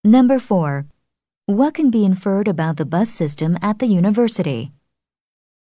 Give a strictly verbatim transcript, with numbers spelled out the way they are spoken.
Number four. What can be inferred about the bus system at the university?